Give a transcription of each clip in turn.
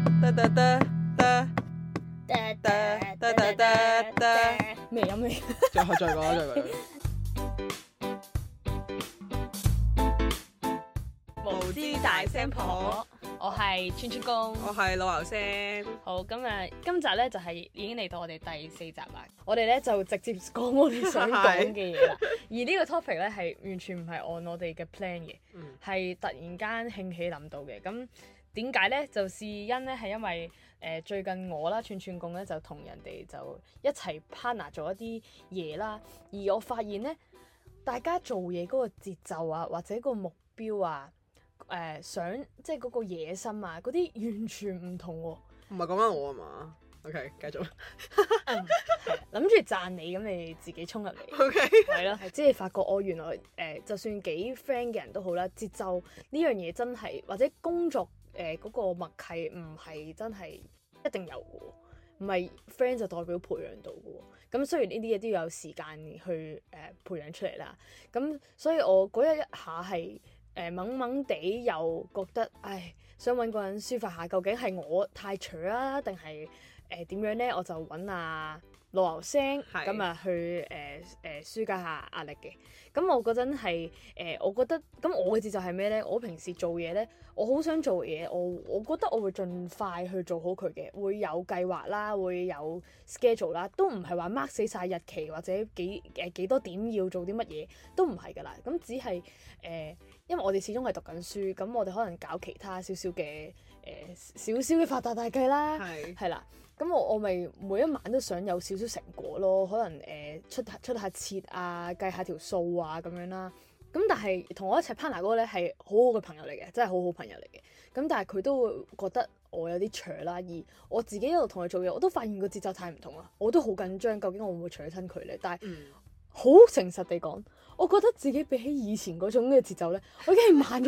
咩飲咩？ 再講。 無知大聲婆，我係串串公， 我係老牛聲。 好，今集咧就係已經嚟到我哋第4集啦。我哋咧就直接講我哋想講嘅嘢啦。而呢個 topic 咧係完全唔係按我哋嘅 plan 嘅，係突然間興起諗到嘅。咁點解咧？就事因咧係因為最近我啦串串公咧就同人哋就一齊 partner 做一啲嘢啦。而我發現咧，大家做嘢嗰個節奏啊，或者個目標啊，想即係嗰個野心啊，嗰啲完全唔同喎。 唔係講緊我啊嘛？OK， 繼續。 諗住讚你，咁你自己衝入嚟。 OK， 係咯，即係發覺我原來就算幾 friend 嘅人都好啦，節奏呢樣嘢真係或者工作嗰個默契唔係真係一定有嘅喎，唔係 friend 就代表培養到嘅喎。咁雖然呢啲嘢都要有時間去培養出嚟啦。咁所以我嗰一下係懵懵地又覺得，想揾個人抒發下，究竟係我太蠢啊，定係點樣咧？我就揾老牛聲咁啊去抒解下壓力嘅。咁我嗰陣係我覺得咁我嘅節奏係咩咧？我平時做嘢咧，我好想做嘢，我覺得我會盡快去做好佢嘅，會有計劃啦，會有 schedule 啦，都唔係話 mark 死晒日期或者幾多點要做啲乜嘢，都唔係㗎啦。咁只係因為我哋始終係讀緊書，咁我哋可能搞其他少少嘅發達大計啦，係啦。咁我咪每一晚都想有少少成果咯，可能出下設啊，計下條數啊咁樣啦。咁但係同我一齊 partner 嗰個咧係好好嘅朋友嚟嘅，真係好好朋友嚟嘅。咁但係佢都會覺得我有啲蠢啦，而我自己一路同佢做嘢，我都發現個節奏太唔同啦，我都好緊張，究竟我會唔會蠢親佢咧？但係好誠實地講，我覺得自己比起以前嗰種嘅節奏咧，我已經係慢咗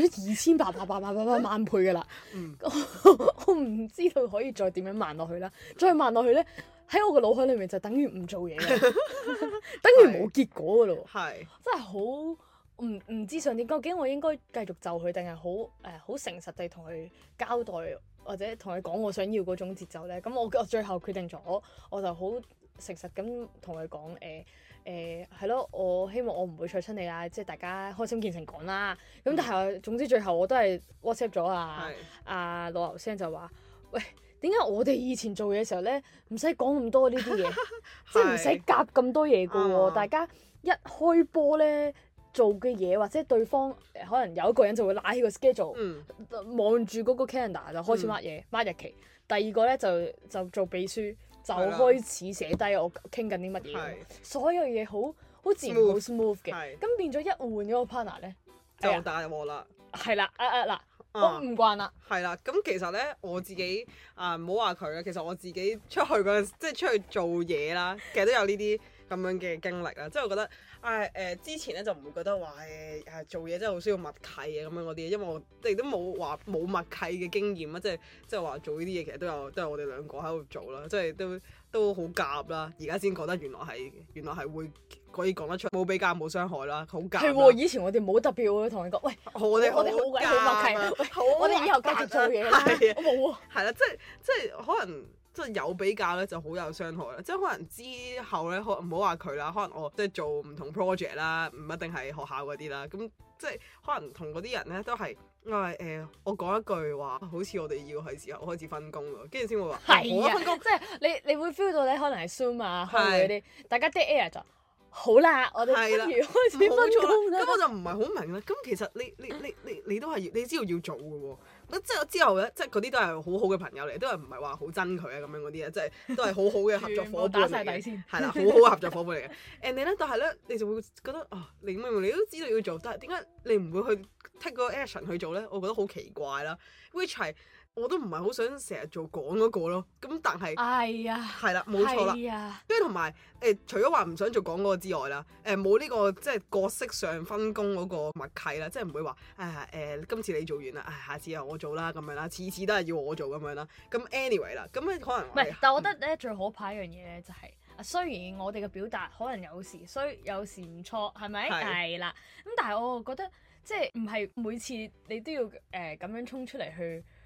2800萬倍㗎啦。我唔知道可以再點樣慢落去啦。再慢落去咧，喺我個腦海裏面就等於唔做嘢啦，等於冇結果㗎咯。真係好唔知想點，究竟我應該繼續就佢，定係好誠實地同佢交代，或者同佢講我想要嗰種節奏咧？咁我最後決定咗，我就好誠實咁同佢講係咯，我希望我唔會錯親你啦，即係大家開心見誠講啦。咁但係總之最後我都係 WhatsApp 咗老牛聲就話：喂，點解我哋以前做嘢嘅時候咧，唔使講咁多呢啲嘢，即係唔使夾咁多嘢㗎喎？大家一開波咧做嘅嘢，或者對方可能有一個人就會拉起個 schedule，望住嗰個 calendar 就開始 mark 嘢，mark 日期。第二個咧就做秘書。就開始寫低我傾緊啲乜嘢，所有嘢好自然好 smooth 嘅，咁變咗一換咗個 partner 咧， 就大鑊啦。 係啦，嗱，我唔慣啦。 係啦，咁其實咧我自己唔好話佢啦，其實我自己出去嗰陣，即係出去做嘢啦，其實都有呢啲咁樣嘅經歷啦。即係我覺得之前咧就唔會覺得話做嘢真係好需要默契嘅咁樣嗰啲，因為我哋都冇話冇默契嘅經驗啊，即係話做呢啲嘢其實都係我哋兩個喺度做啦，即係都好夾啦。而家先覺得原來係會可以講得出，冇比較冇傷害啦，好夾。係喎， 以前我哋冇特別會同你講，喂， 我哋好鬼好默契，我哋以後繼續做嘢啦。我冇啊。係啦，即係可能。即係有比較咧，就好有傷害啦。即係可能之後咧，唔好話佢啦，可能我即係做唔同 project 啦，唔一定係學校嗰啲啦。咁即係可能同嗰啲人咧都係，我講一句話，好似我哋要係時候開始分工咯，跟住先會話係啊，分工即係你會 feel 到咧，可能係 Zoom 啊，開會嗰啲，大家 dead air 就好啦，我哋不如開始分工啦。 咁我就唔係好明啦。咁其實你都係你知道要做嘅喎。即係之後咧，即係嗰啲都係好好嘅朋友嚟，都係唔係話好憎佢啊咁樣嗰啲啊，即係都係好好嘅合作夥伴嚟嘅。打晒底先。係啦，好好嘅合作夥伴嚟嘅。And 咧，但係咧，你就會覺得你明明你都知道要做，但係點解你唔會去 take 個 action 去做咧？我覺得好奇怪啦。Which 係我都唔係好想成日做講嗰個咯。咁但係係啦，冇錯啦。跟住同埋除咗話唔想做講嗰個之外啦，冇呢個即係角色上分工嗰個默契啦，即係唔會話今次你做完啦，下次又我做啦咁樣啦，次次都係要我做咁樣啦。咁 anyway 啦，咁咧可能唔係， 但係我覺得咧最可怕一樣嘢咧就係雖然我哋嘅表達可能有時衰，有時唔錯，係咪？係啦。咁但係我覺得即係唔係每次你都要咁樣衝出嚟去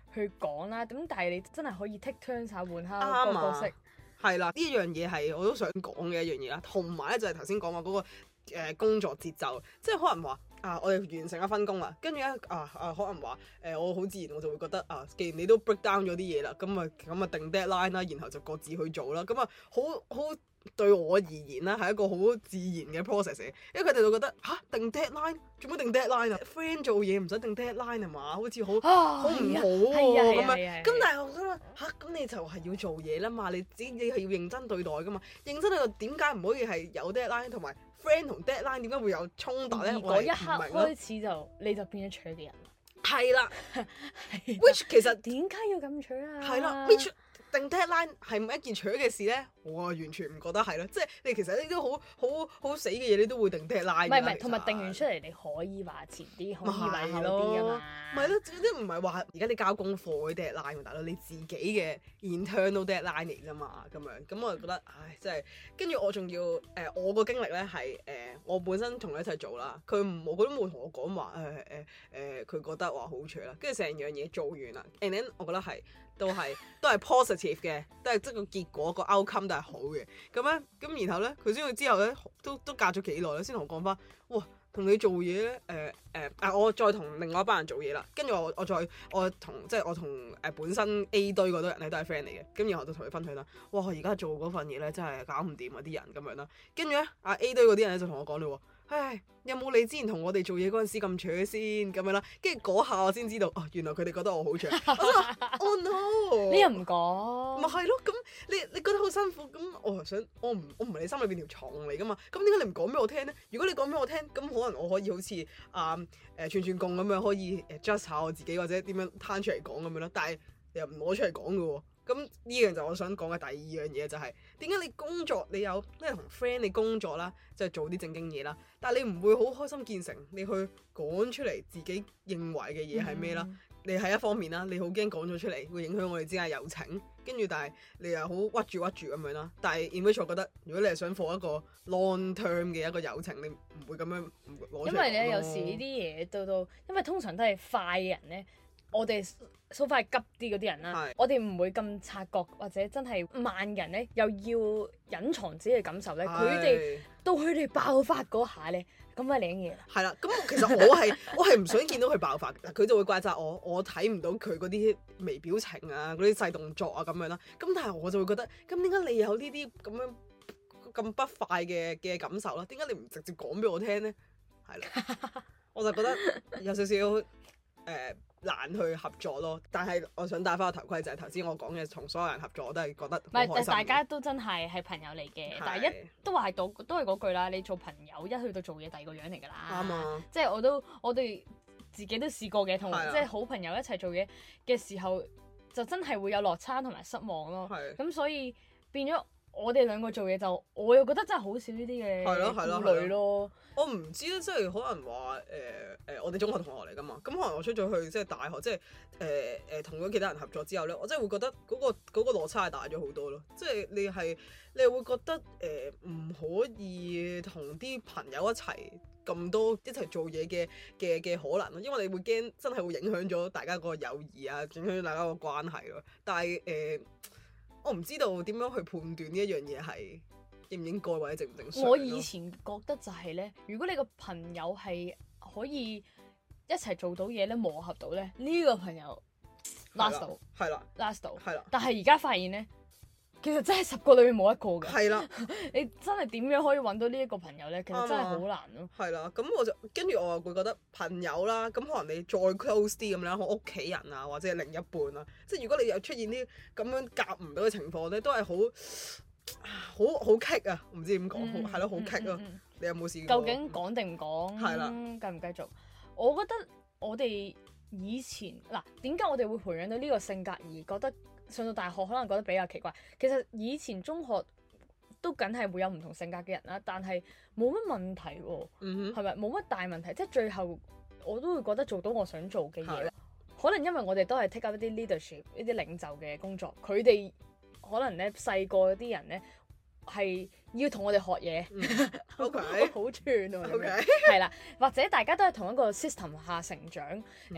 去講啦。咁但係你真係可以 take turn 下換下個啱角色。 啊，係啦，呢一樣嘢係我都想講嘅一樣嘢啦。同埋咧就係頭先講話嗰個工作節奏，即係可能話我哋完成咗分工啦，跟住咧可能話我好自然我就會覺得既然你都 break down 咗啲嘢啦，咁啊定 deadline 啦，然後就各自去做啦，咁啊好對我而言啦係一個好自然嘅 process 嚟，因為佢哋就覺得定 deadline 做乜定 deadline 啊 ？friend 做嘢唔使定 deadline 係嘛？好似好唔好喎咁樣。咁但係我想話咁你就係要做嘢啦嘛，你係要認真對待噶嘛，認真對待點解唔可以係有 deadline 同埋 friend 同 deadline 點解會有衝突咧？ 而嗰一刻開始你就變咗蠢嘅人啦。 係啦，which 其實點解要咁蠢啊？ 係啦，which 定 deadline 係唔係一件蠢嘅事咧？我完全唔覺得係咯，即係你其實你都好死嘅嘢，你都會定 deadline。唔係，同埋定完出嚟你可以話前啲，可以話後啲㗎嘛。 咪咯，即係唔係話而家你交功課嗰啲 deadline 喎，大佬你自己嘅 internal deadline 嚟㗎嘛，咁我就覺得真係跟住我仲要我個經歷咧係我本身同佢一齊做啦，佢都冇同我講話佢覺得話好蠢啦，跟住成樣嘢做完啦 and then 我覺得係。都係 positive 嘅，都係即係個結果個 outcome 都係好嘅。咁然後咧，佢先去之後咧，都隔咗幾耐咧，先同我講翻，哇，同你做嘢咧，我再同另外一班人做嘢啦。跟住我同本身 A 堆嗰堆人咧都係 friend 嚟嘅。咁然後我就同佢分享啦，哇，我而家做嗰份嘢咧真係搞唔掂啊啲人咁樣啦。跟住咧A 堆嗰啲人咧就同我講嘞喎。唉，有冇你之前同我哋做嘢嗰陣時咁蠢先咁樣啦？跟住嗰下我先知道，原來佢哋覺得我好蠢。我就話：Oh no！ 你又唔講？ 咪係咯，咁你覺得好辛苦，咁我想我唔係你心裏邊條蟲嚟噶嘛？咁點解你唔講俾我聽咧？如果你講俾我聽，咁可能我可以好似串貢咁樣可以adjust 下我自己或者點樣攤出嚟講咁樣咯。但係你又唔攞出嚟講嘅喎。咁呢樣就我想講嘅第二樣嘢就係點解你工作你有同 friend 你工作啦，即係做啲正經嘢啦，但係你唔會好開心見誠，你去講出嚟自己認為嘅嘢係咩啦？你係一方面啦，你好驚講咗出嚟會影響我哋之間友情，跟住但係你又好屈住咁樣啦。但係 in which 我覺得如果你係想放一個 long term 嘅一個友情，你唔會咁樣攞出嚟。 因為咧有時呢啲嘢到，因為通常都係快嘅人咧。我哋so快急啲嗰啲人啦，我哋唔會咁察覺，或者真係慢人咧，又要隱藏自己嘅感受咧。佢哋到佢哋爆發嗰下咧，咁咪領嘢啦。 係啦，咁其實我係唔想見到佢爆發，佢就會怪責我睇唔到佢嗰啲微表情啊，嗰啲細動作啊咁樣啦。咁但係我就會覺得，咁點解你有呢啲咁不快嘅感受啦？點解你唔直接講俾我聽咧？係啦，我就覺得有少少難去合作咯，但係我想戴翻個頭盔就係頭先我講嘅，同所有人合作我都係覺得好開心。唔係， 大家都真係朋友嚟嘅，但係都係嗰句啦。你做朋友一去到做嘢，第二個樣嚟㗎啦。啱啊！即係我哋自己都試過嘅，同即係好朋友一齊做嘢嘅時候，就真係會有落差同埋失望咯。咁所以變咗我哋兩個做嘢就，我又覺得真係好少呢啲嘅顧慮咯。 我唔知咧，即係可能話我哋中學同學嚟㗎嘛，咁可能我出咗去即係大學，即係同咗其他人合作之後咧，我真係會覺得嗰個落差係大咗好多咯。即係你係會覺得唔可以同啲朋友一齊咁多一齊做嘢嘅可能咯，因為你會驚真係會影響咗大家個友誼啊，影響大家個關係咯。但係我唔知道點樣去判斷呢一樣嘢係應唔應該或者正唔正常。我以前覺得就係咧，如果你個朋友係可以一齊做到嘢咧，磨合到咧，呢個朋友 last 到， 係啦 ，last 到， 係啦。 但係而家發現咧，其實真係10個裏面冇一個嘅。 係啦， 你真係點樣可以揾到呢一個朋友咧？其實真係好難咯。 係啦，咁我就跟住我又會覺得朋友啦，咁可能你再 close 啲咁樣，我屋企人啊，或者係另一半啊，即係如果你有出現啲咁樣夾唔到嘅情況咧，都係好棘啊！唔知點講，係咯，好棘咯。你有冇試過？ 究竟講定唔講？係啦，繼唔繼續？我覺得我哋以前點解我哋會培養到呢個性格，而覺得上到大學可能覺得比較奇怪？其實以前中學都梗係會有唔同性格嘅人啦，但係冇乜問題喎。係咪冇乜大問題？即係最後我都會覺得做到我想做嘅嘢。可能因為我哋都係 take up 一啲 leadership 一啲領袖嘅工作，佢哋可能咧細個啲人咧係要同我哋學嘢，OK，好串喎，係啦，或者大家都係同一個 system 下成長，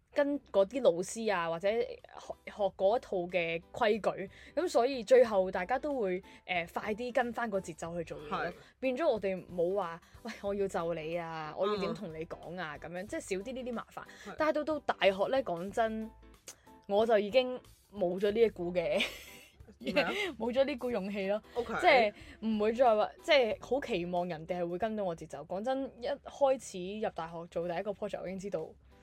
跟嗰啲老師啊，或者學嗰一套嘅規矩，咁所以最後大家都會快啲跟翻個節奏去做嘢，變咗我哋冇話喂我要就你啊，我要點同你講啊咁樣，即係少啲呢啲麻煩。但係到大學咧，講真，我就已經冇咗呢一股嘅。冇咗呢股勇氣咯，okay. 即係唔會再話，即係好期望人哋係會跟到我節奏。講真，一開始入大學做第一個 project，我已經知道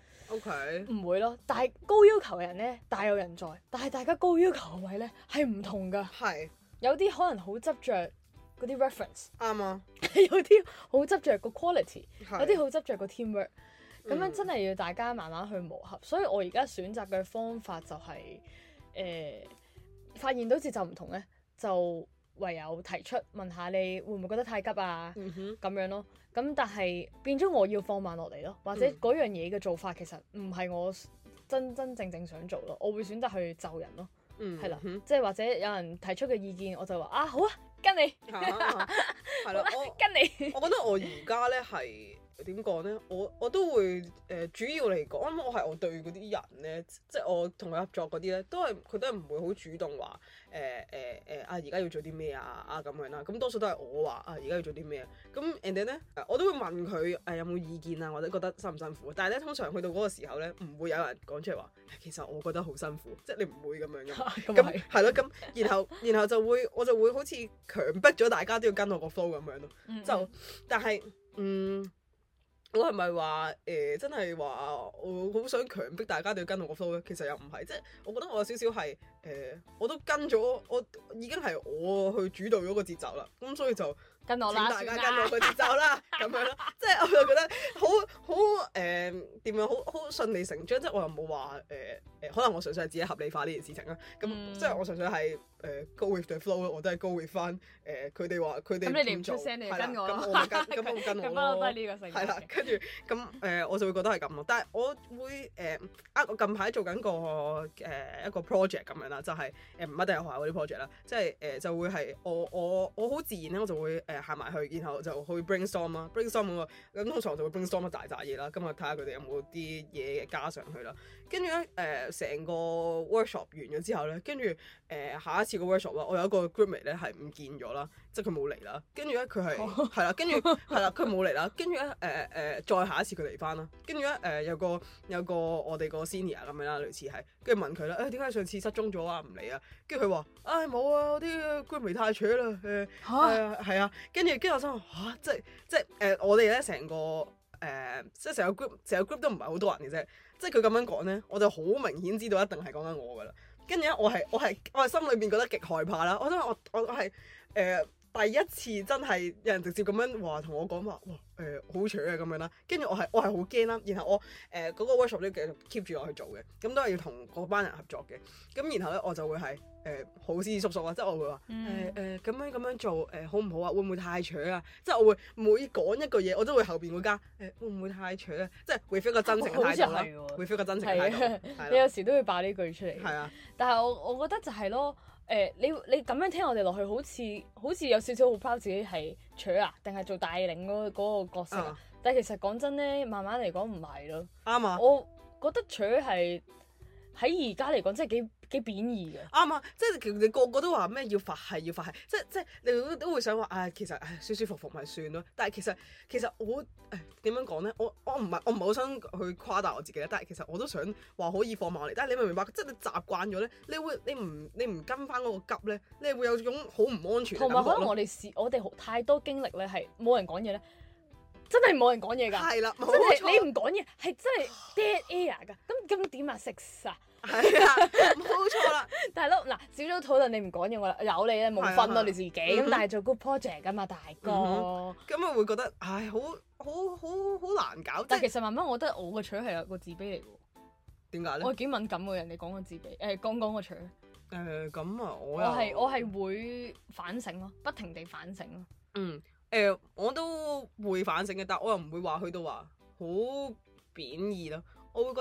，OK，唔會咯。但係高要求嘅人咧大有人在，但係大家高要求嘅位咧係唔同㗎。係有啲可能好執着嗰啲 reference，啱啊。有啲好執着個 quality， 有啲好執着個 teamwork。咁樣真係要大家慢慢去磨合。所以我而家選擇嘅方法就係發現到節奏唔同咧，就唯有提出問下你會唔會覺得太急啊？咁樣咯。咁但係變咗我要放慢落嚟咯，或者嗰樣嘢嘅做法其實唔係我真正想做咯。我會選擇去就人咯，係啦，即係或者有人提出嘅意見，我就話啊好啊，跟你係啦，跟你。我覺得我而家咧係。點講咧？我都會主要嚟講，我對嗰啲人咧，即係我同佢合作嗰啲咧，佢都係唔會好主動話而家要做啲咩啊咁樣啦。咁多數都係我話而家要做啲咩啊。咁 and then 咧，我都會問佢有冇意見啊，或者覺得辛唔辛苦。但係咧，通常去到嗰個時候咧，唔會有人講出嚟話，其實我覺得好辛苦，即係你唔會咁樣嘅。咁係咯，咁然後我就會好似強迫咗大家都要跟我個 flow 咁樣咯。就但係我係咪話真係話我好想強迫大家都要跟我個 flow 咧？其實又唔係，即係我覺得我有少少係我都跟咗，我已經係我去主導咗個節奏啦，咁所以就跟我啦，請大家跟我個節奏啦，咁樣咯，即係我就覺得好點樣好順理成章，即係我又冇話可能我純粹係自己合理化呢件事情啦，咁即係我純粹係go with the flow 咯，我都係 go with 翻佢哋話佢哋咁你唔出聲你就跟我咯，咁我跟我咯，係啦，跟住咁我就會覺得係咁咯，但係我會我近排做緊一個 project 咁樣啦，就係唔一定係學校嗰啲 project 啦，即係就會係我好自然咧，我就會行埋去，然後就去 brainstorm 啦 brainstorm 咁通常就會 brainstorm 一大嘢啦，咁啊睇下佢哋有冇啲嘢加上去啦，跟住咧成個 workshop 完咗之後咧，跟住下一次個 workshop 啦，我有一個 groupmate 咧係唔見咗啦，即係佢冇嚟啦，跟住咧佢係啦，跟住係啦，佢冇嚟啦，跟住咧再下一次佢嚟翻啦，跟住咧有個我哋個 senior 咁樣啦，類似係，跟住問佢啦，點解上次失蹤咗啊？唔嚟啊？跟住佢話冇啊，我啲 groupmate 太扯啦，係啊，跟住我心話即係我哋咧成個即係成個 group 都唔係好多人嘅啫，即係佢咁樣講咧，我就好明顯知道一定係講緊我噶啦。跟住咧，我係心裏邊覺得極害怕啦。我想我係第一次真係有人直接咁樣話同我講話，哇好扯啊咁樣啦。跟住我係好驚啦。然後我嗰個 workshop 都繼續 keep 住我去做嘅，咁都係要同嗰班人合作嘅。咁然後咧我就會係好斯斯縮縮啊，即係我會話咁樣做好唔好啊？會唔會太扯啊？即係我會每講一個嘢，我都會後邊會加會唔會太扯啊？即係會 feel 個真誠嘅態度啦，會 feel 個真誠嘅態度。 你有時都會爆呢句出嚟。係啊， 但係我覺得就係咯。你咁樣聽我哋落去，好似有少少好 proud 自己係扯啊，定係做帶領嗰個角色啊？但係其實講真咧，慢慢嚟講唔係咯。啱啊！我覺得扯係喺而家嚟講，真係幾貶義嘅。啱啊！即係你個個都話咩要佛系，即係你都會想話其實舒舒服服咪算咯。但係其實我點樣講咧？我唔係好想去誇大我自己咧。但係其實我都想話可以放慢嚟。但係你明唔明白？即係你習慣咗咧，你唔跟翻嗰個急咧，你會有種好唔安全嘅感覺。同埋可能我哋太多經歷咧，係冇人講嘢咧，真係冇人講嘢㗎。係啦，真係你唔講嘢係真係 dead air 㗎。咁點啊？食晒。係啊，冇錯啦。但係咯，嗱，小組討論你唔講嘢，我有你咧冇分咯你自己。咁但係做 group project 㗎嘛，大哥。咁我會覺得好難搞。但係其實慢慢我覺得我個取係有個自卑嚟㗎。點解咧？我幾敏感喎，人哋講個自卑，講個取。咁啊，我係會反省咯，不停地反省咯。我都會反省嘅，但我又唔會話去到話好貶義咯。我會覺得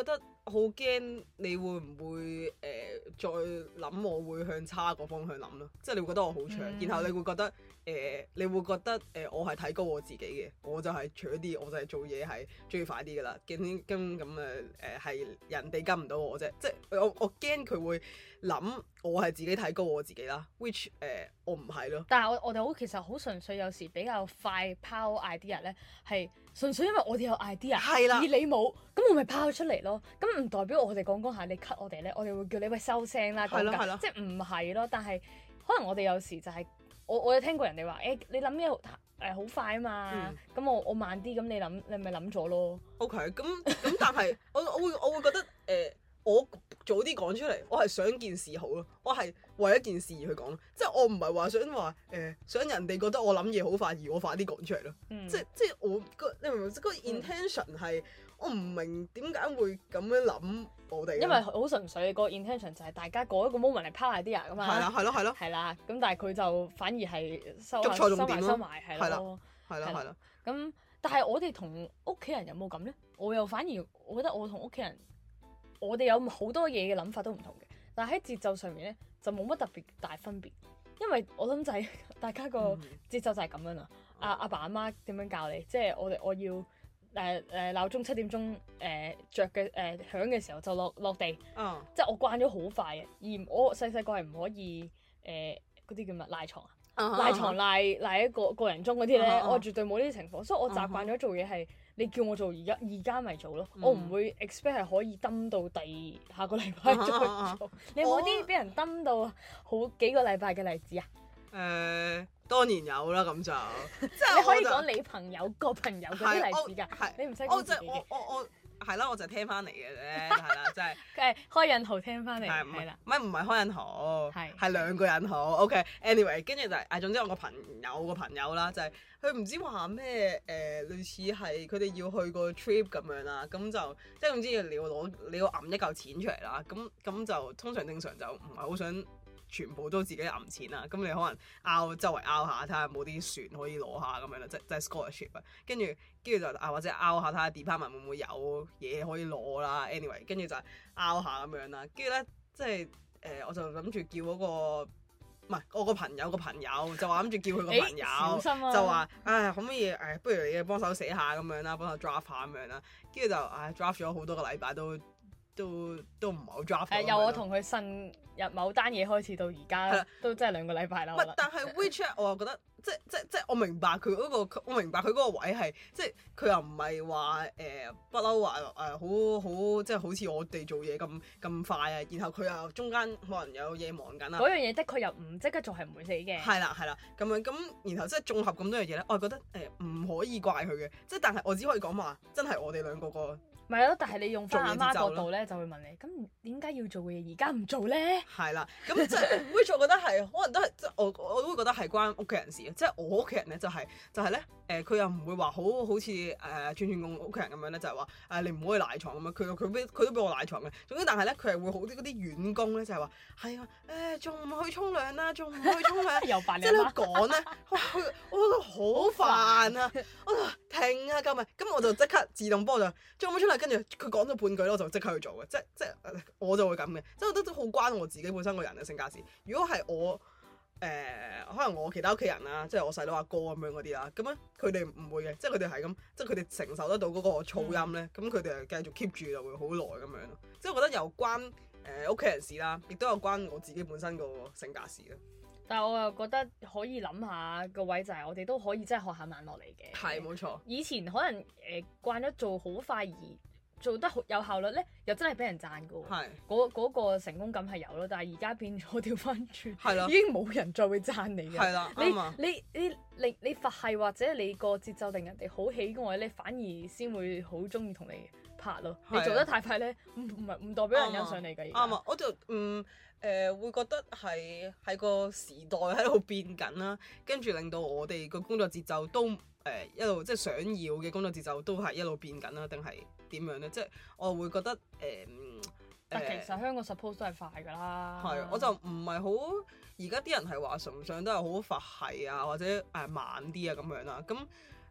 好驚你會唔會再諗我會向差個方向諗咯，即係你會覺得我好長，然後你會覺得我係睇高我自己嘅，我就係除咗啲，我就係做嘢係中意快啲噶啦，驚咁係人哋跟唔到我啫，即係我驚佢會諗我係自己睇高我自己啦，which 我唔係咯。 但係我哋其實好純粹，有時比較快拋 idea 咧，係純粹因為我哋有 idea， 係啦， 而你冇，咁我咪拋出嚟咯。咁唔代表我哋講下你 cut 我哋咧，我哋會叫你喂收聲啦，講緊即係唔係咯？但係可能我哋有時就係我有聽過人哋話你諗嘢好快啊嘛，咁我慢啲，咁你咪諗咗咯。 OK，咁但係我會覺得我早啲講出嚟，我係想件事好咯，我係為一件事而去講，即係我唔係話想人哋覺得我諗嘢好快，而我快啲講出嚟咯。即係我你明唔明？個 intention 係我唔明點解會咁樣諗我哋。 因為好純粹個 intention 就係大家嗰一個 moment 嚟拋 idea 噶嘛。 係咯。 係啦，咁但係佢就反而係收埋係咯。係啦。咁但係我哋同屋企人有冇咁咧？我又反而我覺得我同屋企人。我哋有好多嘢嘅諗法都唔同嘅，但係喺節奏上面咧就冇乜特別大分別，因為我諗就係大家個節奏就係咁樣啦。阿爸阿媽點樣教你？即係我要鬧鐘7點鐘着嘅響嘅時候就落地，即係我慣咗好快嘅，而我細個係唔可以嗰啲叫乜賴床啊，賴床賴一個人鐘嗰啲咧，我絕對冇呢啲情況，所以我習慣咗做嘢係。你叫我做而家咪做咯，我唔會 expect 係可以蹲到下個禮拜再做。你有冇啲俾人蹲到好幾個禮拜嘅例子啊？ 當然有啦，咁就你可以講你朋友個朋友嗰啲例子㗎，你唔使講自己嘅。 我係啦，我就聽翻嚟嘅啫，係啦，即係開引號聽翻嚟，係啦， 唔係開引號，係兩個引號。OK，anyway，跟住就係總之我個朋友啦，就係佢唔知話咩類似係佢哋要去個 trip 咁樣啦，咁就即係總之你要揞一嚿錢出嚟啦，咁就通常正常就唔係好想全部都自己揞錢啊，咁你可能周圍拗下睇下有冇啲船可以攞下咁樣啦，即係 scholarship 啊，跟住就或者拗下睇下 department 會唔會有嘢可以攞啦 anyway， 跟住就拗下咁樣啦，跟住咧即係我就諗住叫嗰個唔係我個朋友就話諗住叫佢個朋友就話可唔可以不如你幫手寫下咁樣啦，幫手 draft 下咁樣啦，跟住就draft 咗好多個禮拜都唔係好 draft。 由我同佢呻入某單嘢開始到而家，都真係2個禮拜啦。 但係 WeChat 我又覺得即係我明白佢嗰個位係即係佢又唔係話不嬲話好即係好似我哋做嘢咁快啊，然後佢又中間可能有嘢忙緊啊。 嗰樣嘢的確又唔即刻做係唔會死嘅。 係啦咁樣咁，然後即係綜合咁多樣嘢咧，我係覺得唔可以怪佢嘅，即係但係我只可以講話真係我哋兩個個。 咪係咯，但係你用翻阿媽角度咧，就會問你，咁點解要做嘅嘢而家唔做咧？係啦，咁即係 which 我覺得係可能都係即係我都會覺得係關屋企人事嘅，即係我屋企人咧就係咧佢又唔會話好似串公屋企人咁樣咧，就係話你唔可以賴床咁樣，佢都俾我賴床嘅。總之但係咧佢係會好啲嗰啲員工咧就係話係啊仲唔去沖涼啦，仲唔去沖涼？ 又煩你媽。 即係你講咧，我覺得好煩啊！我就停啊，咁我就即刻自動幫我就仲唔出嚟？跟住佢講咗半句咧，我就即刻去做嘅，即係我就會咁嘅，即係我覺得都好關我自己本身個人嘅性格事。如果係我可能我其他屋企人啦，即係我細佬阿哥咁樣嗰啲啦，咁咧佢哋唔會嘅，即係佢哋係咁，即係佢哋承受得到嗰個噪音咧，咁佢哋係繼續 keep 住就會好耐咁樣咯。即係我覺得有關屋企人事啦，亦都有關我自己本身個性格事啦。 但係我又覺得可以諗下個位就係我哋都可以真係學下慢落嚟嘅。 係冇錯。 以前可能慣咗做好快而做得好有效率咧，又真係俾人讚嘅喎。係。嗰個成功感係有咯，但係而家變咗調翻轉，係啦，已經冇人再會讚你嘅。係啦，啱啊。你佛系或者你個節奏令人哋好喜愛咧，反而先會好中意同你拍咯。你做得太快咧，唔代表人欣賞你嘅。 啱啊，我就會覺得係個時代喺度變緊啦，跟住令到我哋個工作節奏都一路即係想要嘅工作節奏都係一路變緊啦，定係點樣咧？即係我會覺得但其實香港 suppose 都係快㗎啦。 係，我就唔係好而家啲人係話崇尚都係好佛系啊，或者慢啲啊咁樣啦。咁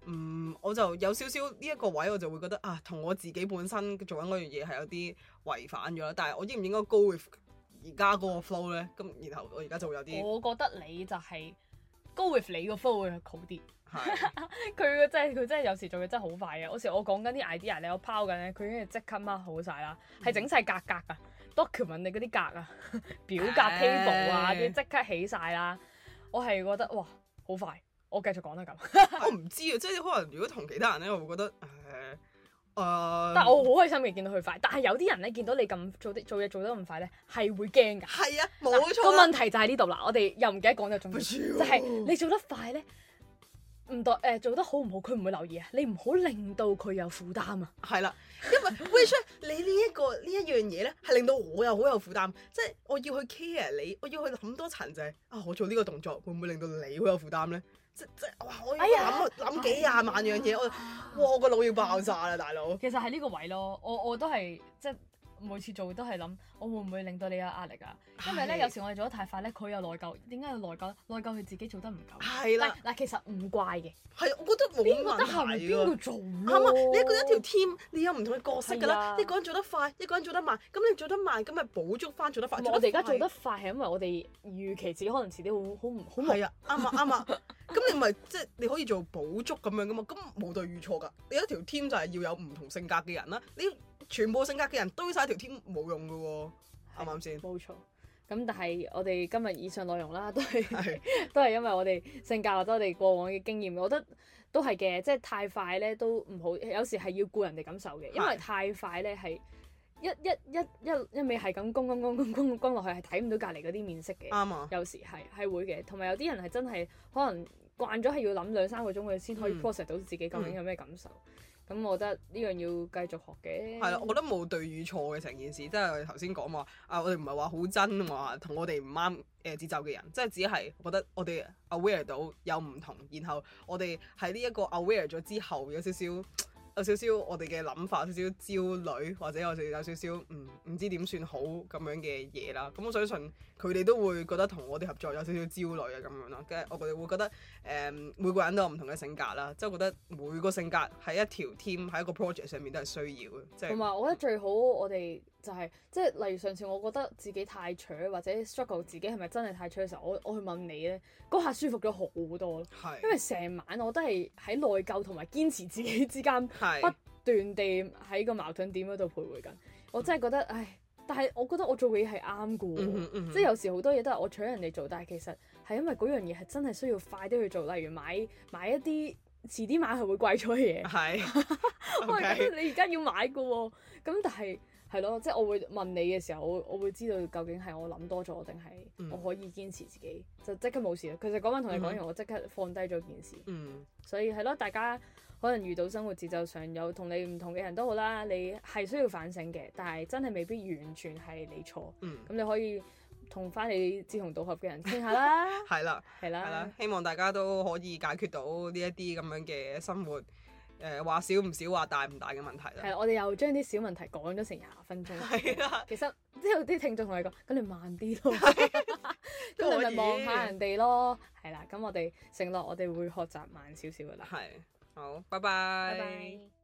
我就有少少呢一個位，我就會覺得啊，同我自己本身做緊嗰樣嘢係有啲違反咗啦。但係我應唔應該 go with 而家嗰個 flow 咧？咁然後我而家就會有啲， 我覺得你就係 go with 你個 flow 會好啲。 係佢真係有時做嘢真係好快嘅。有時我講緊啲 idea 咧，我拋緊咧，佢已經即刻 mark 好晒啦，係整晒格格啊 document 你嗰啲格啊，表格 table 啊啲即刻起晒啦。我係覺得哇好快，我繼續講得咁。 我唔知啊，即係可能如果同其他人咧，我會覺得但係我好開心嘅見到佢快，但係有啲人咧見到你咁做嘢做得咁快咧，係會驚㗎。 係啊，冇錯。 個問題就喺呢度啦，我哋又唔記得講咗重點，就係你做得快咧，唔代做得好唔好，佢唔會留意啊。你唔好令到佢有負擔啊。 係啦，因為 which 你呢一樣嘢咧，係令到我又好有負擔，即係我要去 care 你，我要去諗多層就係我做呢個動作會唔會令到你好有負擔咧？即哇！我要諗幾廿萬樣嘢，我個腦要爆炸啦，大佬。 其實係呢個位咯，我都係即係每次做都係諗，我會唔會令到你有壓力啊？因為咧有時我哋做得太快咧，佢有內疚。點解有內疚咧？內疚佢自己做得唔夠。 係啦。 嗱，其實唔怪嘅。 係，我覺得冇問題㗎。 邊個做咯？ 啱啊！你一個人一條 team，你有唔同嘅角色㗎啦。一個人做得快，一個人做得慢。咁你做得慢，咁咪補足翻做得快。 我哋而家做得快係因為我哋預期自己可能遲啲好忙。 係啊，啱啊。咁你咪即係你可以做補足咁樣噶嘛？咁冇對與錯㗎。你一條 team 就係要有唔同性格嘅人啦。你全部性格嘅人堆晒條 team 冇用㗎喎，啱唔啱先？ 冇錯。咁但係我哋今日以上內容啦，都係因為我哋性格或者我哋過往嘅經驗，我覺得都係嘅。即係太快咧都唔好，有時係要顧人哋感受嘅，因為太快咧係一味係咁攻落去，係睇唔到隔離嗰啲面色嘅。 啱啊。有時係會嘅，同埋有啲人係真係可能慣咗係要諗2-3個鐘佢先可以 process 到自己究竟有咩感受。咁我覺得呢樣要繼續學嘅。係啦，我覺得冇對與錯嘅成件事，即係我哋頭先講話我哋唔係話好真話同我哋唔啱節奏嘅人，即係只係覺得我哋 aware 到有唔同，然後我哋喺呢一個 aware 咗之後有少少我哋嘅諗法，有少少焦慮，或者我哋有少少唔知點算好咁樣嘅嘢啦。咁我相信佢哋都會覺得同我哋合作有少少焦慮啊咁樣咯。跟住我哋會覺得每個人都有唔同嘅性格啦，即係覺得每個性格喺一條 team 喺一個 project 上面都係需要嘅。即係同埋我覺得最好我哋就係即係例如上次我覺得自己太蠢或者 struggle 自己係咪真係太蠢嘅時候，我去問你咧，嗰下舒服咗好多咯。因為成晚我都係喺內疚同埋堅持自己之間不斷地喺個矛盾點嗰度徘徊緊。我真係覺得唉，但係我覺得我做嘅嘢係啱嘅喎，即係有時好多嘢都係我搶人哋做，但係其實係因為嗰樣嘢係真係需要快啲去做，例如買一啲遲啲買係會貴咗嘅嘢。係，我係覺得你而家要買嘅喎，咁但係。係咯，即係我會問你嘅時候，我會知道究竟係我諗多咗定係我可以堅持自己，就即刻冇事啦。其實嗰晚同你講完，我即刻放低咗件事。所以係咯，大家可能遇到生活節奏上有同你唔同嘅人都好啦，你係需要反省嘅，但係真係未必完全係你錯。咁你可以同翻你志同道合嘅人傾下啦。係啦， 希望大家都可以解決到呢一啲咁樣嘅生活。話少唔少，話大唔大嘅問題啦。 係，我哋又將啲小問題講咗成20分鐘。係啊，其實之後啲聽眾同你講，咁你慢啲咯，咁你咪望下人哋咯。係啦，咁我哋承諾我哋會學習慢少少噶啦。 係，好，拜拜。